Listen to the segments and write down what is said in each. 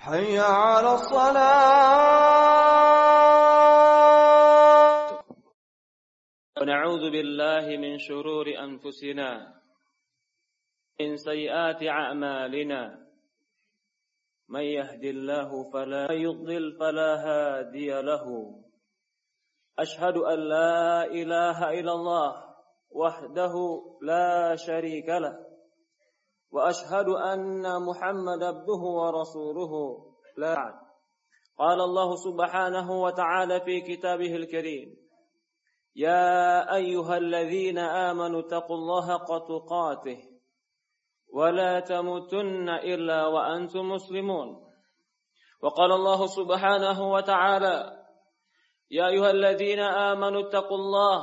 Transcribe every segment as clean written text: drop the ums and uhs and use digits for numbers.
حي على الصلاة. ونعوذ بالله من شرور أنفسنا من سيئات أعمالنا من يهد الله فلا يضلل فلا هادي له أشهد أن لا إله إلا الله وحده لا شريك له وأشهد أن محمد عبده ورسوله لا بعد. قال الله سبحانه وتعالى في كتابه الكريم يا أيها الذين آمنوا اتقوا الله حق تقاته ولا تموتن إلا وأنتم مسلمون. وقال الله سبحانه وتعالى يا أيها الذين آمنوا اتقوا الله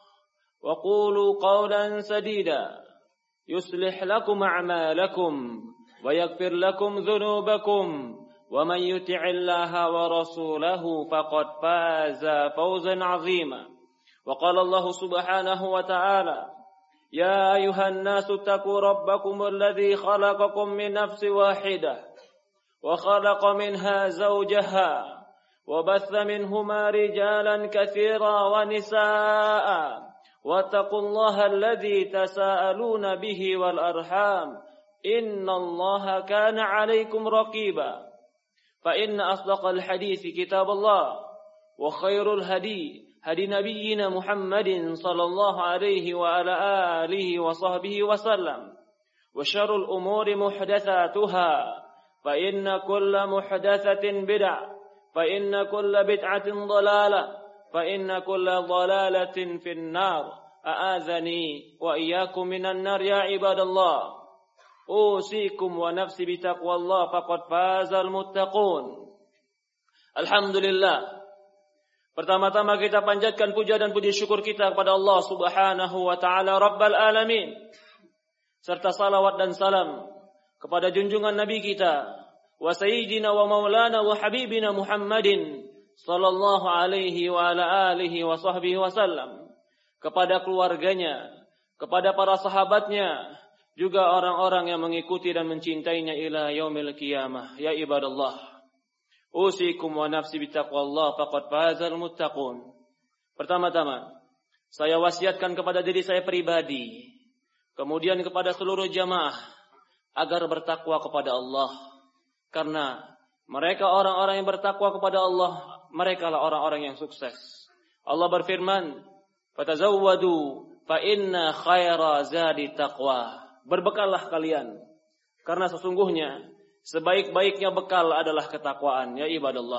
وقولوا قولا سديدا يصلح لكم أعمالكم ويغفر لكم ذنوبكم ومن يطع الله ورسوله فقد فاز فوزا عظيما. وقال الله سبحانه وتعالى يا أيها الناس اتقوا ربكم الذي خلقكم من نفس واحدة وخلق منها زوجها وبث منهما رجالا كثيرا ونساء واتقوا الله الذي تساءلون به والأرحام إن الله كان عليكم رقيبا. فإن أصدق الحديث كتاب الله وخير الهدي هدي نبينا محمد صلى الله عليه وعلى آله وصحبه وسلم وشر الأمور محدثاتها فإن كل محدثة بدعة فإن كل بدعة ضلالة فإن كل ضلالة في النار أعاذني وإياكم من النار يا عباد الله أوصيكم ونفسي بتقوى الله فقد فاز المتقون. Alhamdulillah. Pertama-tama kita panjatkan puja dan puji syukur kita kepada Allah Subhanahu wa taala Rabbal Alamin. Serta salawat dan salam kepada junjungan Nabi kita wa sayyidina wa maulana wa habibina Muhammadin sallallahu alaihi wa ala alihi wa sahbihi wasallam, kepada keluarganya, kepada para sahabatnya, juga orang-orang yang mengikuti dan mencintainya ila yaumil qiyamah. Ya ibadallah, usikum wa nafsi bitaqwallah faqad fazal muttaqun. Pertama-tama, saya wasiatkan kepada diri saya pribadi, kemudian kepada seluruh jamaah agar bertakwa kepada Allah. Karena mereka orang-orang yang bertakwa kepada Allah, mereka lah orang-orang yang sukses. Allah berfirman, "Fatazawwadu fa inna khaira zadi taqwa." Berbekallah kalian, karena sesungguhnya sebaik-baiknya bekal adalah ketakwaan. Ya ibadallah,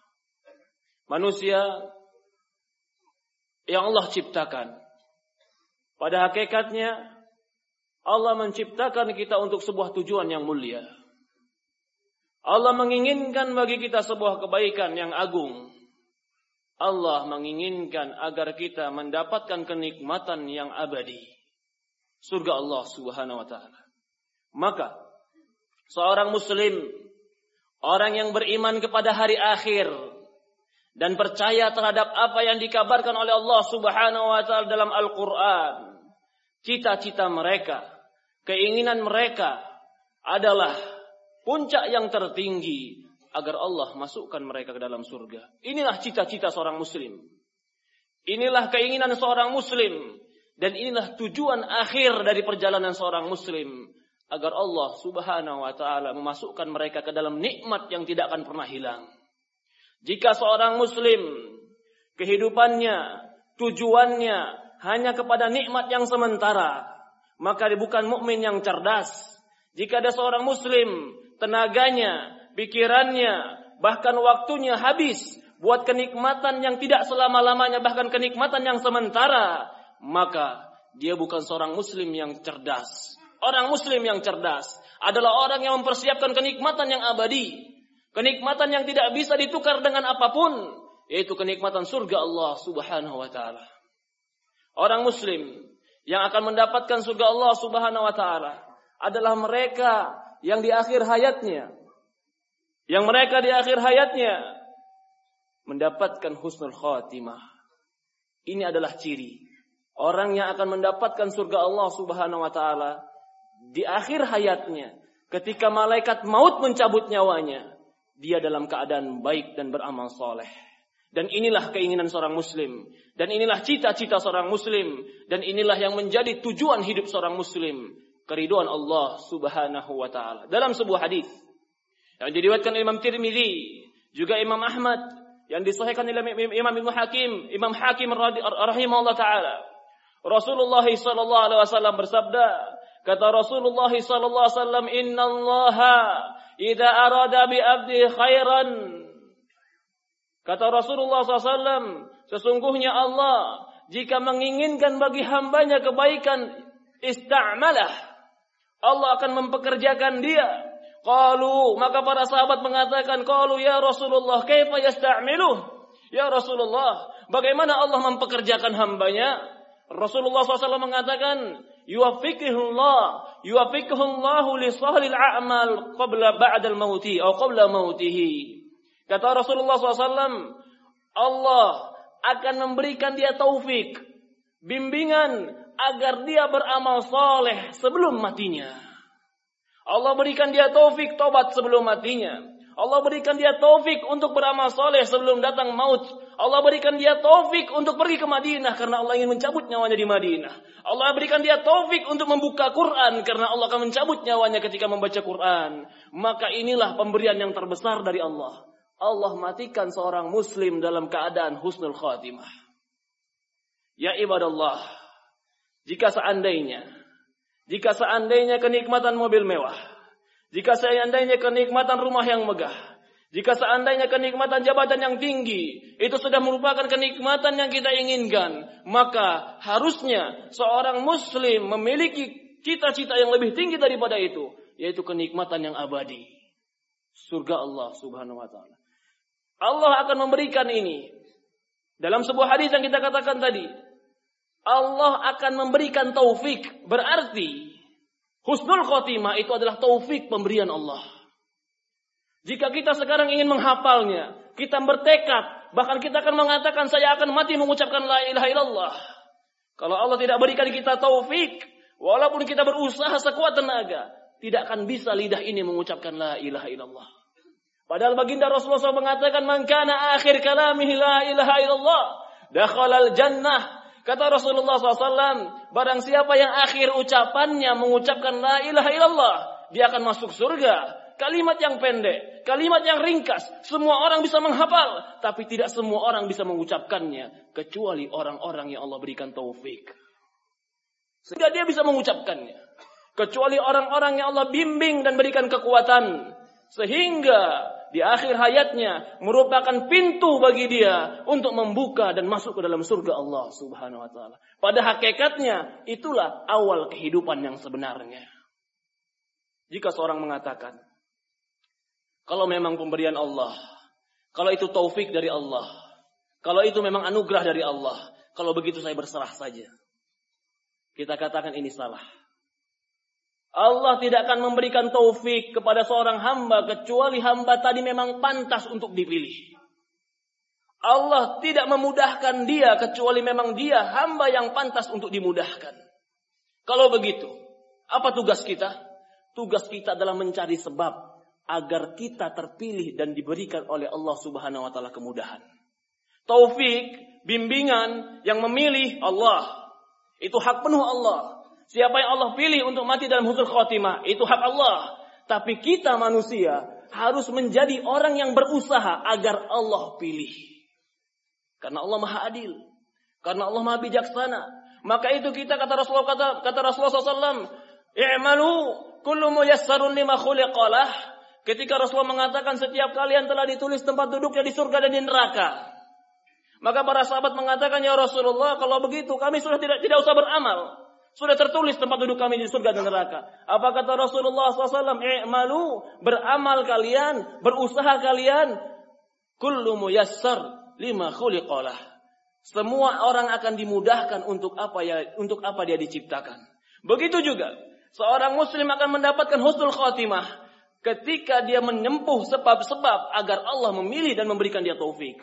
manusia yang Allah ciptakan, pada hakikatnya Allah menciptakan kita untuk sebuah tujuan yang mulia. Allah menginginkan bagi kita sebuah kebaikan yang agung. Allah menginginkan agar kita mendapatkan kenikmatan yang abadi, surga Allah Subhanahu wa taala. Maka seorang muslim, orang yang beriman kepada hari akhir dan percaya terhadap apa yang dikabarkan oleh Allah Subhanahu wa taala dalam Al-Qur'an, cita-cita mereka, keinginan mereka adalah puncak yang tertinggi agar Allah masukkan mereka ke dalam surga. Inilah cita-cita seorang muslim. Inilah keinginan seorang muslim. Dan inilah tujuan akhir dari perjalanan seorang muslim. Agar Allah Subhanahu wa ta'ala memasukkan mereka ke dalam nikmat yang tidak akan pernah hilang. Jika seorang muslim kehidupannya, tujuannya hanya kepada nikmat yang sementara, maka dia bukan mukmin yang cerdas. Jika ada seorang muslim, tenaganya, pikirannya, bahkan waktunya habis buat kenikmatan yang tidak selama-lamanya, bahkan kenikmatan yang sementara, maka dia bukan seorang muslim yang cerdas. Orang muslim yang cerdas adalah orang yang mempersiapkan kenikmatan yang abadi, kenikmatan yang tidak bisa ditukar dengan apapun, yaitu kenikmatan surga Allah Subhanahu wa taala. Orang muslim yang akan mendapatkan surga Allah Subhanahu wa taala adalah mereka yang di akhir hayatnya, mendapatkan husnul khatimah. Ini adalah ciri orang yang akan mendapatkan surga Allah Subhanahu wa taala di akhir hayatnya, ketika malaikat maut mencabut nyawanya, dia dalam keadaan baik dan beramal soleh. Dan inilah keinginan seorang muslim. Dan inilah cita-cita seorang muslim. Dan inilah yang menjadi tujuan hidup seorang muslim. Keridhaan Allah subhanahu wa ta'ala. Dalam sebuah hadis yang diriwayatkan Imam Tirmidzi, juga Imam Ahmad, yang disahihkan oleh Imam Imam Hakim rahimahullah ta'ala. Rasulullah sallallahu alaihi wasallam bersabda, kata Rasulullah sallallahu alaihi wasallam, "Innallaha idza arada bi 'abdi khairan." Kata Rasulullah SAW, sesungguhnya Allah jika menginginkan bagi hambanya kebaikan, ista'malah. Allah akan mempekerjakan dia. Qalu, maka para sahabat mengatakan, qalu ya Rasulullah, kaifa yasta'miluh? Ya Rasulullah, bagaimana Allah mempekerjakan hambanya? Rasulullah SAW mengatakan, yuwaffiquhullahu li sahlil a'mal qabla ba'dal mauti atau qabla mautihi. Kata Rasulullah SAW, Allah akan memberikan dia taufik, bimbingan agar dia beramal soleh sebelum matinya. Allah berikan dia taufik tobat sebelum matinya. Allah berikan dia taufik untuk beramal soleh sebelum datang maut. Allah berikan dia taufik untuk pergi ke Madinah karena Allah ingin mencabut nyawanya di Madinah. Allah berikan dia taufik untuk membuka Quran karena Allah akan mencabut nyawanya ketika membaca Quran. Maka inilah pemberian yang terbesar dari Allah. Allah matikan seorang muslim dalam keadaan husnul khatimah. Ya ibadallah, jika seandainya kenikmatan mobil mewah, jika seandainya kenikmatan rumah yang megah, jika seandainya kenikmatan jabatan yang tinggi, itu sudah merupakan kenikmatan yang kita inginkan, maka harusnya seorang muslim memiliki cita-cita yang lebih tinggi daripada itu, yaitu kenikmatan yang abadi. Surga Allah subhanahu wa ta'ala. Allah akan memberikan ini. Dalam sebuah hadis yang kita katakan tadi, Allah akan memberikan taufik. Berarti husnul khotimah itu adalah taufik pemberian Allah. Jika kita sekarang ingin menghafalnya, kita bertekad, bahkan kita akan mengatakan saya akan mati mengucapkan la ilaha illallah. Kalau Allah tidak berikan kita taufik, walaupun kita berusaha sekuat tenaga, tidak akan bisa lidah ini mengucapkan la ilaha illallah. Padahal baginda Rasulullah SAW mengatakan, man kana akhir kalamihi la ilaha illallah, dakhalal jannah. Kata Rasulullah SAW, barang siapa yang akhir ucapannya mengucapkan la ilaha illallah, dia akan masuk surga. Kalimat yang pendek, kalimat yang ringkas, semua orang bisa menghafal, tapi tidak semua orang bisa mengucapkannya, kecuali orang-orang yang Allah berikan taufik. Sehingga dia bisa mengucapkannya. Kecuali orang-orang yang Allah bimbing dan berikan kekuatan, sehingga di akhir hayatnya merupakan pintu bagi dia untuk membuka dan masuk ke dalam surga Allah subhanahu wa ta'ala. Pada hakikatnya itulah awal kehidupan yang sebenarnya. Jika seorang mengatakan, kalau memang pemberian Allah, kalau itu taufik dari Allah, kalau itu memang anugerah dari Allah, kalau begitu saya berserah saja, kita katakan ini salah. Allah tidak akan memberikan taufik kepada seorang hamba kecuali hamba tadi memang pantas untuk dipilih. Allah tidak memudahkan dia kecuali memang dia hamba yang pantas untuk dimudahkan. Kalau begitu, apa tugas kita? Tugas kita adalah mencari sebab agar kita terpilih dan diberikan oleh Allah Subhanahu wa taala kemudahan. Taufik, bimbingan yang memilih Allah. Itu hak penuh Allah. Siapa yang Allah pilih untuk mati dalam husnul khotimah, itu hak Allah. Tapi kita manusia harus menjadi orang yang berusaha agar Allah pilih. Karena Allah Maha Adil. Karena Allah Maha Bijaksana. Maka itu kita kata Rasulullah SAW, "I'malu kullu muyassarun lima khuliqalah." Ketika Rasulullah mengatakan setiap kalian telah ditulis tempat duduknya di surga dan di neraka. Maka para sahabat mengatakan, "Ya Rasulullah, kalau begitu kami sudah tidak usah beramal. Sudah tertulis tempat duduk kami di surga dan neraka." Apa kata Rasulullah SAW? "I'malu, beramal kalian, berusaha kalian. Kullu muyassar lima khuliqalah." Semua orang akan dimudahkan untuk apa dia diciptakan. Begitu juga seorang muslim akan mendapatkan husnul khotimah ketika dia menempuh sebab-sebab agar Allah memilih dan memberikan dia taufik.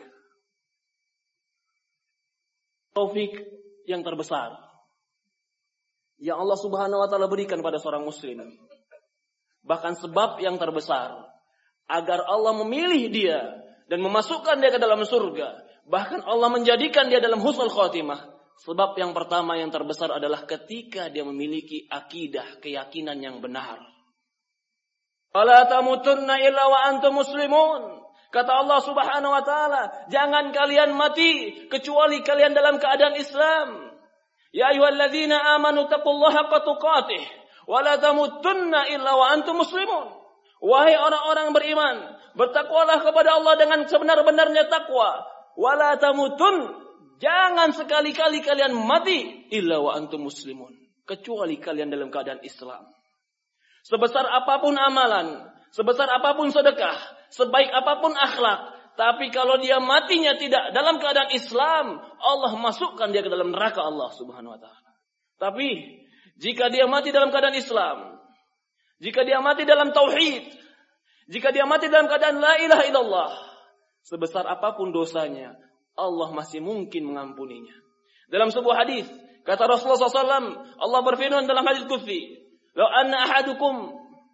Taufik yang terbesar yang Allah Subhanahu wa taala berikan pada seorang muslim. Bahkan sebab yang terbesar agar Allah memilih dia dan memasukkan dia ke dalam surga. Bahkan Allah menjadikan dia dalam husnul khotimah. Sebab yang pertama yang terbesar adalah ketika dia memiliki akidah, keyakinan yang benar. Wala tamutunna illa wa antum muslimun. Kata Allah Subhanahu wa taala, jangan kalian mati kecuali kalian dalam keadaan Islam. Ya ayyuhalladzina amanu taqullaha haqqa tuqatih wa la tamutunna illa wa antum muslimun. Wahai orang-orang beriman, bertakwalah kepada Allah dengan sebenar-benarnya takwa. Wala tamutun, jangan sekali-kali kalian mati illa wa antum muslimun, kecuali kalian dalam keadaan Islam. Sebesar apapun amalan, sebesar apapun sedekah, sebaik apapun akhlak, tapi kalau dia matinya tidak dalam keadaan Islam, Allah masukkan dia ke dalam neraka Allah Subhanahu wa taala. Tapi jika dia mati dalam keadaan Islam, jika dia mati dalam tauhid, jika dia mati dalam keadaan la ilaha illallah, sebesar apapun dosanya, Allah masih mungkin mengampuninya. Dalam sebuah hadis, kata Rasulullah SAW, Allah berfirman dalam hadis qudsi, "Lau anna ahadukum,"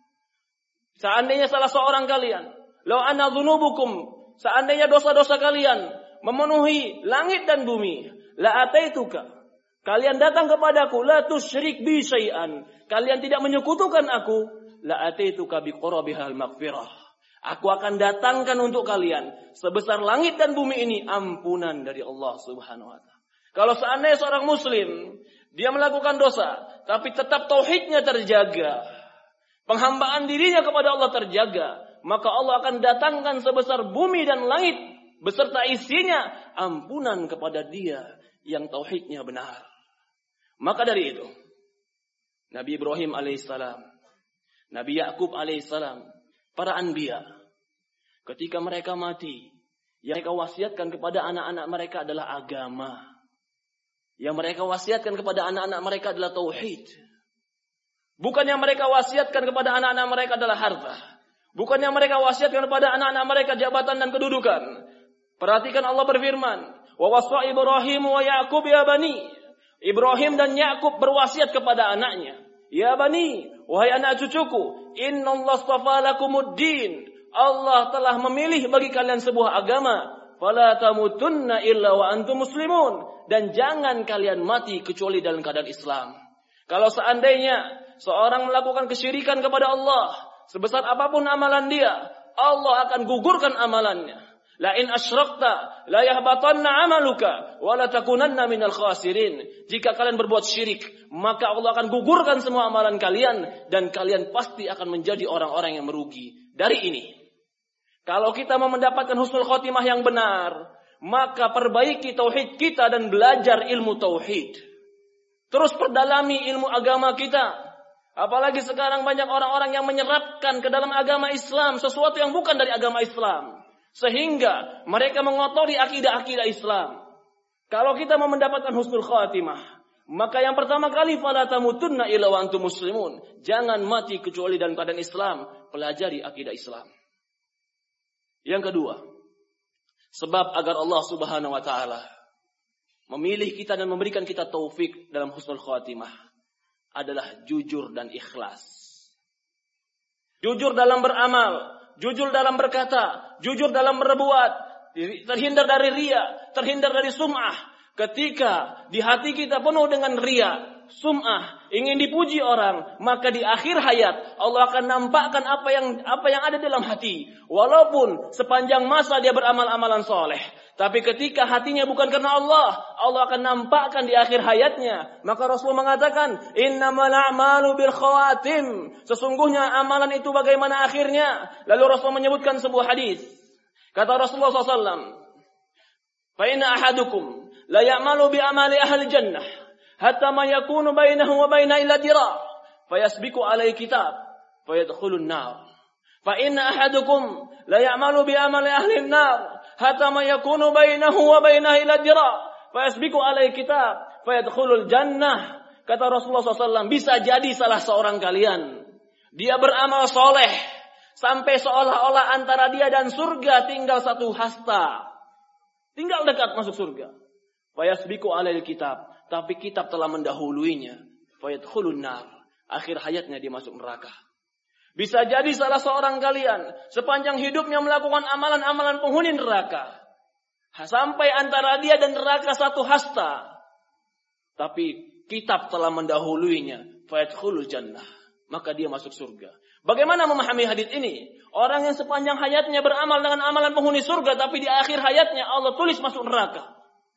seandainya salah seorang kalian, "Lau anna dzunubukum," seandainya dosa-dosa kalian memenuhi langit dan bumi, "La ataituka," kalian datang kepadaku, "La tusyrik bi syai'an," kalian tidak menyekutukan aku, "La ataituka bi qurabihal maghfirah," aku akan datangkan untuk kalian sebesar langit dan bumi ini ampunan dari Allah Subhanahu wa taala. Kalau seandainya seorang muslim dia melakukan dosa tapi tetap tauhidnya terjaga, penghambaan dirinya kepada Allah terjaga, maka Allah akan datangkan sebesar bumi dan langit beserta isinya ampunan kepada dia yang tauhidnya benar. Maka dari itu Nabi Ibrahim alaihissalam, Nabi Yakub alaihissalam, para anbiya, ketika mereka mati, yang mereka wasiatkan kepada anak-anak mereka adalah agama. Yang mereka wasiatkan kepada anak-anak mereka adalah tauhid. Bukan yang mereka wasiatkan kepada anak-anak mereka adalah harta. Bukan yang mereka wasiatkan kepada anak-anak mereka jabatan dan kedudukan. Perhatikan Allah berfirman, "Wa wasa Ibrahim wa Yaqub ya bani." Ibrahim dan Yakub berwasiat kepada anaknya, "Ya bani, wahai anak cucuku, innallaha astafa lakumuddin." Allah telah memilih bagi kalian sebuah agama. Fala tamutunna illa wa antum muslimun. Dan jangan kalian mati kecuali dalam keadaan Islam. Kalau seandainya seorang melakukan kesyirikan kepada Allah, sebesar apapun amalan dia, Allah akan gugurkan amalannya. La in asyrakta la yahbatanna amaluka wa la takunanna minal khasirin. Jika kalian berbuat syirik, maka Allah akan gugurkan semua amalan kalian dan kalian pasti akan menjadi orang-orang yang merugi. Dari ini, kalau kita mau mendapatkan husnul khotimah yang benar, maka perbaiki tauhid kita dan belajar ilmu tauhid. Terus perdalami ilmu agama kita. Apalagi sekarang banyak orang-orang yang menyerapkan ke dalam agama Islam sesuatu yang bukan dari agama Islam, sehingga mereka mengotori akidah-akidah Islam. Kalau kita mau mendapatkan husnul khatimah, maka yang pertama kali fala tamutunna illa wa antum muslimun. Jangan mati kecuali dalam keadaan Islam. Pelajari akidah Islam. Yang kedua, sebab agar Allah Subhanahu wa taala memilih kita dan memberikan kita taufik dalam husnul khatimah adalah jujur dan ikhlas. Jujur dalam beramal, jujur dalam berkata, jujur dalam berbuat, terhindar dari riya, terhindar dari sum'ah. Ketika di hati kita penuh dengan riya, sum'ah, ingin dipuji orang, maka di akhir hayat Allah akan nampakkan apa yang ada dalam hati. Walaupun sepanjang masa dia beramal amalan soleh, tapi ketika hatinya bukan karena Allah, Allah akan nampakkan di akhir hayatnya. Maka Rasulullah mengatakan, innamal a'malu bil khawatim. Sesungguhnya amalan itu bagaimana akhirnya. Lalu Rasulullah menyebutkan sebuah hadis. Kata Rasulullah SAW, fa inna ahadukum la ya'malu bi amali ahli jannah hatta ma yakunu bainahu wa baina illa dira' fayasbiqu alaihi kitab fayadkhulun nar. Fa inna ahadukum la ya'malu bi amali ahli an-nar hatta ma yakunu bainahu wa bainaha illa dira' fayasbiqu alaihi kitab fayadkhulul jannah. Kata Rasulullah SAW, bisa jadi salah seorang kalian dia beramal soleh sampai seolah-olah antara dia dan surga tinggal satu hasta, tinggal dekat masuk surga. Fayasbiqu alaihi kitab, tapi kitab telah mendahuluinya. Fayadkhulun nar, akhir hayatnya dia masuk neraka. Bisa jadi salah seorang kalian sepanjang hidupnya melakukan amalan-amalan penghuni neraka. Sampai antara dia dan neraka satu hasta. Tapi kitab telah mendahuluinya. Fayadkhulul jannah. Maka dia masuk surga. Bagaimana memahami hadis ini? Orang yang sepanjang hayatnya beramal dengan amalan penghuni surga. Tapi di akhir hayatnya Allah tulis masuk neraka.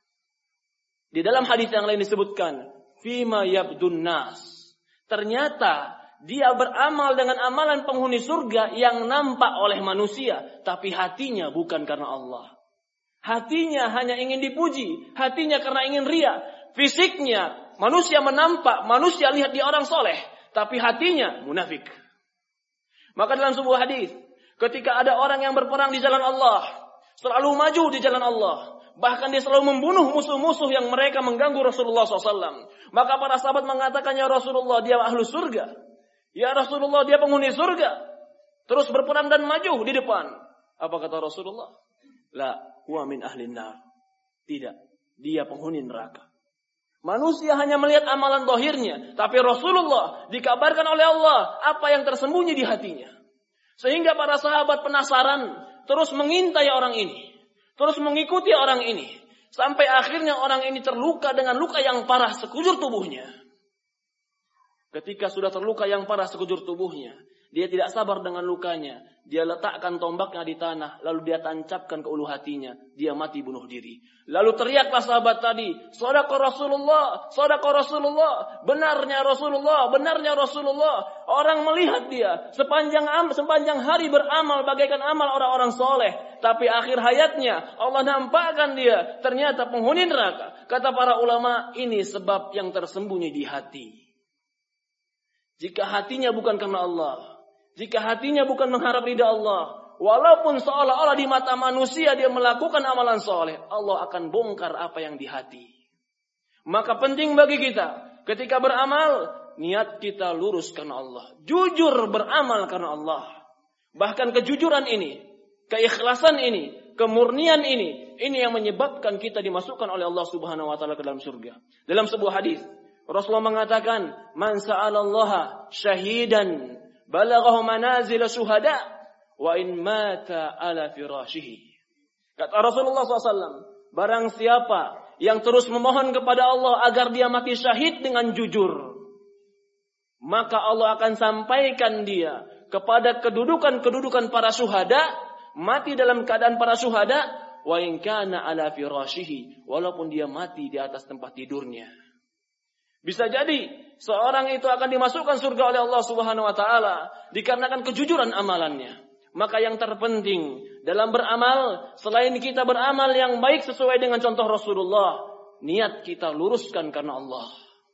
Di dalam hadis yang lain disebutkan. Fima yabdun nas. Ternyata dia beramal dengan amalan penghuni surga yang nampak oleh manusia. Tapi hatinya bukan karena Allah. Hatinya hanya ingin dipuji. Hatinya karena ingin ria. Fisiknya manusia menampak. Manusia lihat dia orang soleh. Tapi hatinya munafik. Maka dalam sebuah hadis. Ketika ada orang yang berperang di jalan Allah. Selalu maju di jalan Allah. Bahkan dia selalu membunuh musuh-musuh yang mereka mengganggu Rasulullah SAW. Maka para sahabat mengatakan, ya Rasulullah, dia ahlu surga. Ya Rasulullah, dia penghuni surga. Terus berperang dan maju di depan. Apa kata Rasulullah? La, huwa min ahlin nar. Tidak, dia penghuni neraka. Manusia hanya melihat amalan zahirnya. Tapi Rasulullah dikabarkan oleh Allah apa yang tersembunyi di hatinya. Sehingga para sahabat penasaran. Terus mengintai orang ini. Terus mengikuti orang ini. Sampai akhirnya orang ini terluka dengan luka yang parah sekujur tubuhnya. Ketika sudah terluka yang parah sekujur tubuhnya, dia tidak sabar dengan lukanya. Dia letakkan tombaknya di tanah, lalu dia tancapkan ke ulu hatinya. Dia mati bunuh diri. Lalu teriaklah sahabat tadi, "Shadaqa Rasulullah, shadaqa Rasulullah." Benarnya Rasulullah, benarnya Rasulullah. Orang melihat dia sepanjang hari beramal bagaikan amal orang-orang soleh. Tapi akhir hayatnya Allah nampakkan dia ternyata penghuni neraka. Kata para ulama, ini sebab yang tersembunyi di hati. Jika hatinya bukan karena Allah, jika hatinya bukan mengharap ridha Allah, walaupun seolah-olah di mata manusia dia melakukan amalan soleh, Allah akan bongkar apa yang di hati. Maka penting bagi kita, ketika beramal, niat kita lurus karena Allah. Jujur beramal karena Allah. Bahkan kejujuran ini, keikhlasan ini, kemurnian ini yang menyebabkan kita dimasukkan oleh Allah Subhanahu wa taala ke dalam surga. Dalam sebuah hadis, Rasulullah mengatakan, "Man sa'alallaha syahidan balaghahu manazil syuhada wa in mata ala firashihi." Kata Rasulullah SAW, barang siapa yang terus memohon kepada Allah agar dia mati syahid dengan jujur, maka Allah akan sampaikan dia kepada kedudukan para syuhada, mati dalam keadaan para syuhada, wa in kana ala firashihi, walaupun dia mati di atas tempat tidurnya. Bisa jadi seorang itu akan dimasukkan surga oleh Allah Subhanahu wa taala dikarenakan kejujuran amalannya. Maka yang terpenting dalam beramal, selain kita beramal yang baik sesuai dengan contoh Rasulullah, niat kita luruskan karena Allah.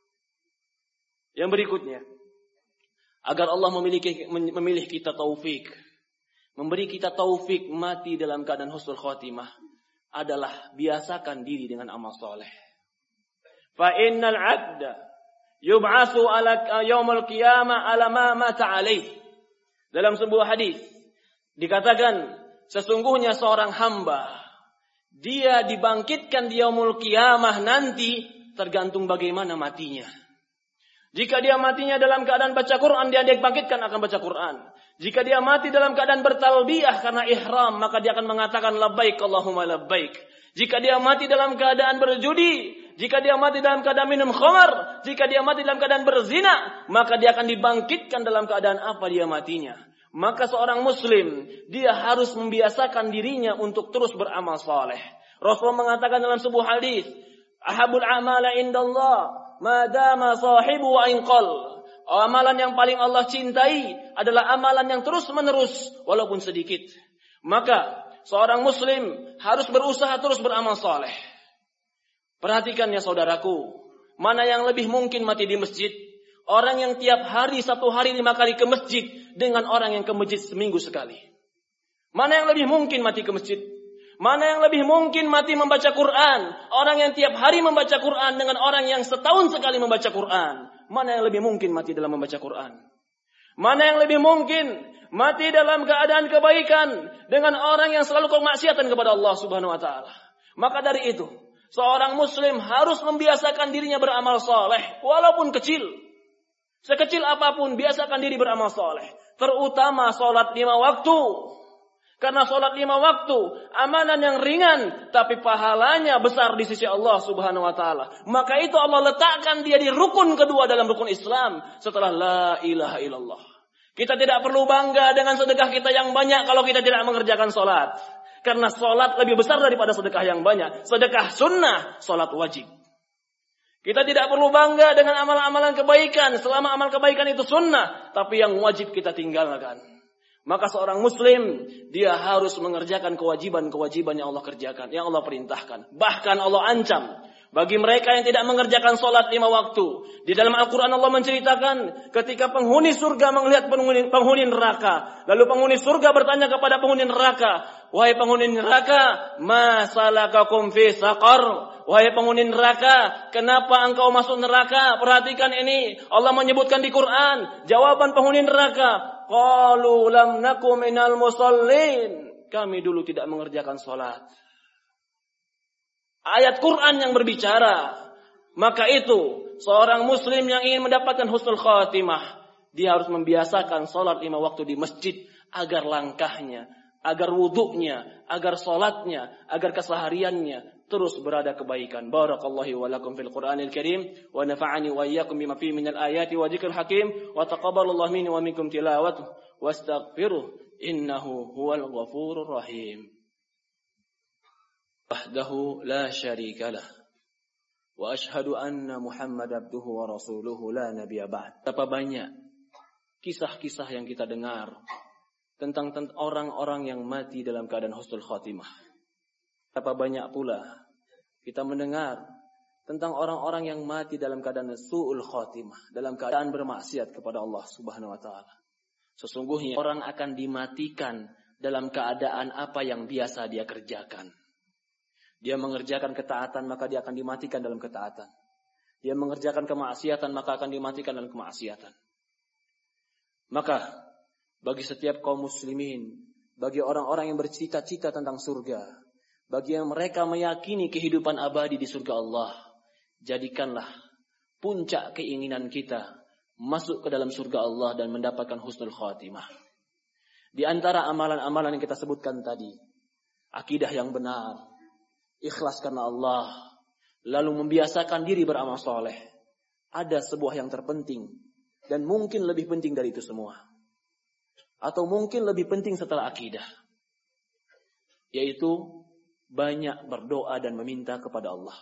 Yang berikutnya, agar Allah memilih kita taufik, memberi kita taufik mati dalam keadaan husnul khotimah, adalah biasakan diri dengan amal soleh. Fa innal 'abda yub'atsu ala yaumil qiyamah ala ma mata alaih. Dalam sebuah hadis dikatakan, sesungguhnya seorang hamba dia dibangkitkan di yaumul qiyamah nanti tergantung bagaimana matinya. Jika dia matinya dalam keadaan baca Quran, dia dibangkitkan akan baca Quran. Jika dia mati dalam keadaan bertalbiyah karena ihram, maka dia akan mengatakan labbaik Allahumma labbaik. Jika dia mati dalam keadaan berjudi, jika dia mati dalam keadaan minum khamar, jika dia mati dalam keadaan berzina, maka dia akan dibangkitkan dalam keadaan apa dia matinya. Maka seorang muslim, dia harus membiasakan dirinya untuk terus beramal saleh. Rasulullah mengatakan dalam sebuah hadis, "Ahabul amala indallah ma dama sahibu wa inqal." Amalan yang paling Allah cintai adalah amalan yang terus-menerus walaupun sedikit. Maka seorang muslim harus berusaha terus beramal saleh. Perhatikan ya saudaraku, mana yang lebih mungkin mati di masjid? Orang yang tiap hari 1 hari 5 kali ke masjid dengan orang yang ke masjid seminggu sekali. Mana yang lebih mungkin mati ke masjid? Mana yang lebih mungkin mati membaca Quran? Orang yang tiap hari membaca Quran dengan orang yang setahun sekali membaca Quran. Mana yang lebih mungkin mati dalam membaca Quran? Mana yang lebih mungkin mati dalam keadaan kebaikan dengan orang yang selalu kemaksiatan kepada Allah Subhanahu wa taala? Maka dari itu, seorang muslim harus membiasakan dirinya beramal saleh walaupun kecil. Sekecil apapun biasakan diri beramal saleh. terutama sholat 5 waktu. Karena sholat 5 waktu, amalan yang ringan, tapi pahalanya besar di sisi Allah Subhanahu wa Ta'ala. Maka itu Allah letakkan dia di rukun kedua dalam rukun Islam setelah la ilaha illallah. Kita tidak perlu bangga dengan sedekah kita yang banyak kalau kita tidak mengerjakan sholat. Karena sholat lebih besar daripada sedekah yang banyak. Sedekah sunnah, sholat wajib. Kita tidak perlu bangga dengan amalan-amalan kebaikan selama amal kebaikan itu sunnah, tapi yang wajib kita tinggalkan. Maka seorang muslim, dia harus mengerjakan kewajiban-kewajiban yang Allah kerjakan, yang Allah perintahkan. Bahkan Allah ancam bagi mereka yang tidak mengerjakan sholat 5 waktu. Di dalam Al-Quran Allah menceritakan ketika penghuni surga melihat penghuni neraka. Lalu penghuni surga bertanya kepada penghuni neraka, wahai penghuni neraka, ma salakakum fi saqar? Wahai penghuni neraka, kenapa engkau masuk neraka? Perhatikan ini, Allah menyebutkan di Quran, jawaban penghuni neraka, qalu lam naku minal musallin. Kami dulu tidak mengerjakan sholat. Ayat Quran yang berbicara. Maka itu, seorang muslim yang ingin mendapatkan husnul khatimah, dia harus membiasakan sholat 5 waktu di masjid, agar langkahnya, agar wuduknya, agar sholatnya, agar kesehariannya terus berada kebaikan. Barakallahu wa lakum fil Qur'anil Karim wa nafa'ani wa iyyakum bima fihi minal ayati wa dzikril hakim wa taqabbalallahu minni wa minkum tilawatuhu wastaghfiruh innahu huwal ghafurur rahim. Wahdahu la syarika lah wa asyhadu anna Muhammad abduhu wa rasuluhu la nabiyya ba'd. Betapa banyak kisah-kisah yang kita dengar tentang orang-orang yang mati dalam keadaan husnul khatimah. Betapa banyak pula kita mendengar tentang orang-orang yang mati dalam keadaan su'ul khatimah, dalam keadaan bermaksiat kepada Allah Subhanahu wa Ta'ala. Sesungguhnya orang akan dimatikan dalam keadaan apa yang biasa dia kerjakan. Dia mengerjakan ketaatan, maka dia akan dimatikan dalam ketaatan. Dia mengerjakan kemaksiatan, maka akan dimatikan dalam kemaksiatan. Maka bagi setiap kaum muslimin, bagi orang-orang yang bercita-cita tentang surga, bagi yang mereka meyakini kehidupan abadi di surga Allah, jadikanlah puncak keinginan kita masuk ke dalam surga Allah dan mendapatkan husnul khatimah. Di antara amalan-amalan yang kita sebutkan tadi, akidah yang benar, ikhlas karena Allah, lalu membiasakan diri beramal soleh. Ada sebuah yang terpenting dan mungkin lebih penting dari itu semua, atau mungkin lebih penting setelah akidah, yaitu banyak berdoa dan meminta kepada Allah.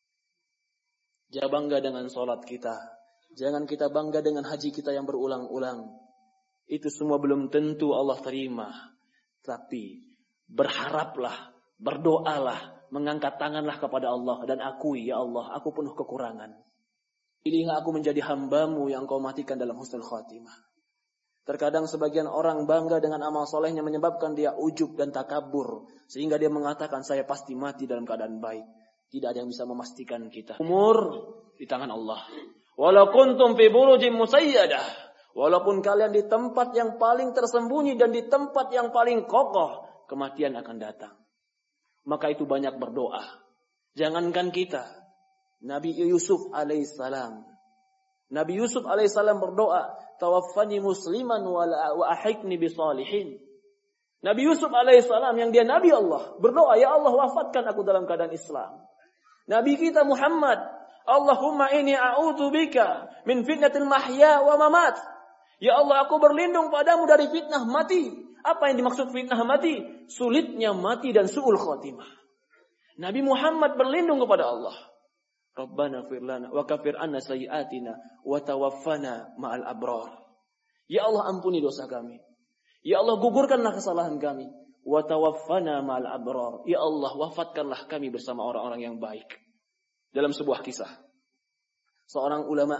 Jangan bangga dengan sholat kita. Jangan kita bangga dengan haji kita yang berulang-ulang. Itu semua belum tentu Allah terima. Tapi berharaplah, berdoalah, mengangkat tanganlah kepada Allah dan akui, ya Allah, aku penuh kekurangan. Pilihlah aku menjadi hambamu yang kau matikan dalam husnul khatimah. Terkadang sebagian orang bangga dengan amal solehnya menyebabkan dia ujub dan takabur. Sehingga dia mengatakan saya pasti mati dalam keadaan baik. Tidak ada yang bisa memastikan kita. Umur di tangan Allah. Walau kuntum fi burujim musayyadah. Walaupun kalian di tempat yang paling tersembunyi dan di tempat yang paling kokoh, kematian akan datang. Maka itu banyak berdoa. Jangankan kita. Nabi Yusuf alaihissalam. Nabi Yusuf alaihissalam berdoa, tawaffani musliman wa ahikni bisalihin. Nabi Yusuf alaihissalam yang dia Nabi Allah berdoa, ya Allah wafatkan aku dalam keadaan Islam. Nabi kita Muhammad, Allahumma inni a'udzubika min fitnatil mahya wa mamat. Ya Allah, aku berlindung padamu dari fitnah mati. Apa yang dimaksud fitnah mati? Sulitnya mati dan su'ul khatimah. Nabi Muhammad berlindung kepada Allah. Rabbana fir lana wa kafir anna sayyi'atina wa tawaffana ma'al abrar. Ya Allah, ampuni dosa kami. Ya Allah, gugurkanlah kesalahan kami. Wa tawaffana ma'al abrar. Ya Allah, wafatkanlah kami bersama orang-orang yang baik. Dalam sebuah kisah, seorang ulama,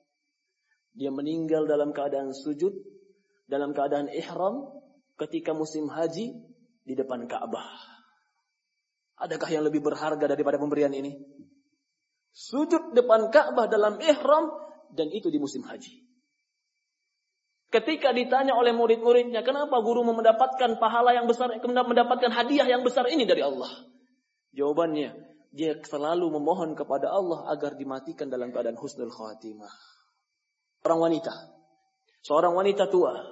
dia meninggal dalam keadaan sujud, dalam keadaan ihram, ketika musim haji di depan Ka'bah. Adakah yang lebih berharga daripada pemberian ini? Sujud depan Ka'bah dalam ihram, dan itu di musim haji. Ketika ditanya oleh murid-muridnya, kenapa guru mendapatkan pahala yang besar, mendapatkan hadiah yang besar ini dari Allah? Jawabannya, dia selalu memohon kepada Allah agar dimatikan dalam keadaan husnul khatimah. Seorang wanita tua,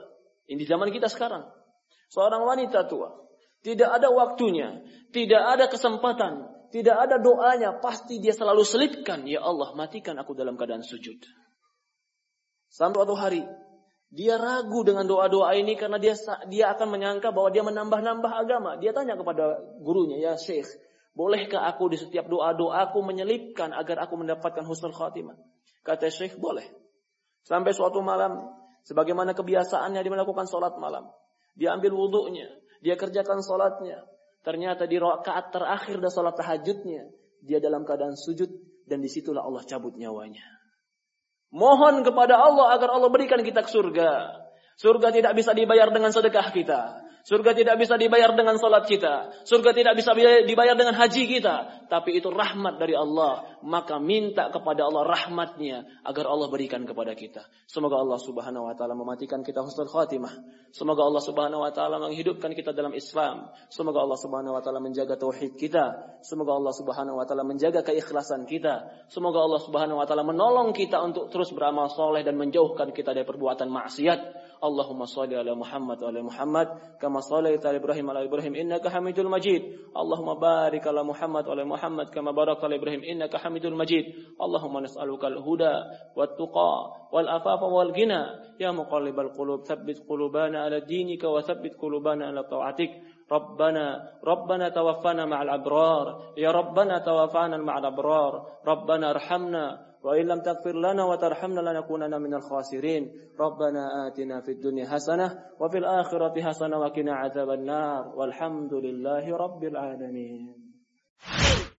Ini di zaman kita sekarang. Seorang wanita tua, tidak ada waktunya, tidak ada kesempatan, tidak ada doanya, pasti dia selalu selipkan, ya Allah, matikan aku dalam keadaan sujud. Sampai suatu hari, dia ragu dengan doa-doa ini karena dia akan menyangka bahwa dia menambah-nambah agama. Dia tanya kepada gurunya, ya Syekh, bolehkah aku di setiap doa-doaku menyelipkan agar aku mendapatkan husnul khatimah? Kata Syekh, boleh. Sampai suatu malam, sebagaimana kebiasaannya dia melakukan sholat malam. Dia ambil wudunya, dia kerjakan sholatnya. Ternyata di rakaat terakhir dari sholat tahajudnya, dia dalam keadaan sujud dan disitulah Allah cabut nyawanya. Mohon kepada Allah agar Allah berikan kita ke surga. Surga tidak bisa dibayar dengan sedekah kita. Surga tidak bisa dibayar dengan salat kita. Surga tidak bisa dibayar dengan haji kita. Tapi itu rahmat dari Allah. Maka minta kepada Allah rahmatnya agar Allah berikan kepada kita. Semoga Allah subhanahu wa ta'ala mematikan kita husnul khatimah. Semoga Allah subhanahu wa ta'ala menghidupkan kita dalam Islam. Semoga Allah subhanahu wa ta'ala menjaga tauhid kita. Semoga Allah subhanahu wa ta'ala menjaga keikhlasan kita. Semoga Allah subhanahu wa ta'ala menolong kita untuk terus beramal soleh dan menjauhkan kita dari perbuatan maksiat. Allahumma salli ala Muhammad wa ala Muhammad kama shallaita ala Ibrahim wa ala Ibrahim innaka Hamidul Majid. Allahumma barik ala Muhammad wa ala Muhammad kama barakta ala Ibrahim innaka Hamidul Majid. Allahumma nas'aluka al-huda wat-tuqa wal-afafa wal-ghina ya muqallibal qulub tsabbit qulubana ala dinika wa tsabbit qulubana ala ta'atik. ربنا توفنا مع الأبرار يا ربنا توفنا مع الأبرار ربنا ارحمنا وإن لم تغفر لنا وترحمنا لنكونن من الخاسرين ربنا آتنا في الدنيا حسنة وفي الآخرة حسنة وقنا عذاب النار والحمد لله رب العالمين.